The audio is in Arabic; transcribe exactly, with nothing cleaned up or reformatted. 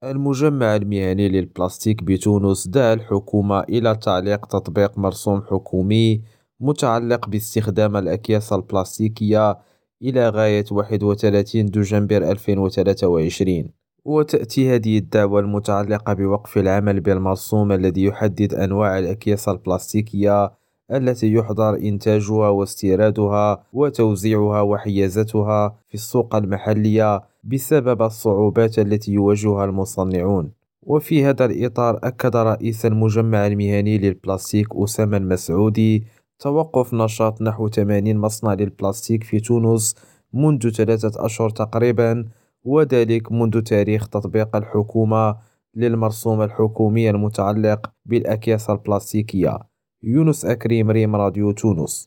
المجمع المهني للبلاستيك بتونس دعا الحكومة إلى تعليق تطبيق مرسوم حكومي متعلق باستخدام الأكياس البلاستيكية إلى غاية واحد وثلاثين دجنبر ألفين وثلاثة وعشرين. وتأتي هذه الدعوة المتعلقة بوقف العمل بالمرسوم الذي يحدد أنواع الأكياس البلاستيكية التي يحظر إنتاجها واستيرادها وتوزيعها وحيازتها في السوق المحلية بسبب الصعوبات التي يواجهها المصنعون. وفي هذا الإطار أكد رئيس المجمع المهني للبلاستيك أسامة المسعودي توقف نشاط نحو ثمانين مصنع للبلاستيك في تونس منذ ثلاثة أشهر تقريبا، وذلك منذ تاريخ تطبيق الحكومة للمرسوم الحكومي المتعلق بالأكياس البلاستيكية. يونس أكريم، ريم راديو تونس.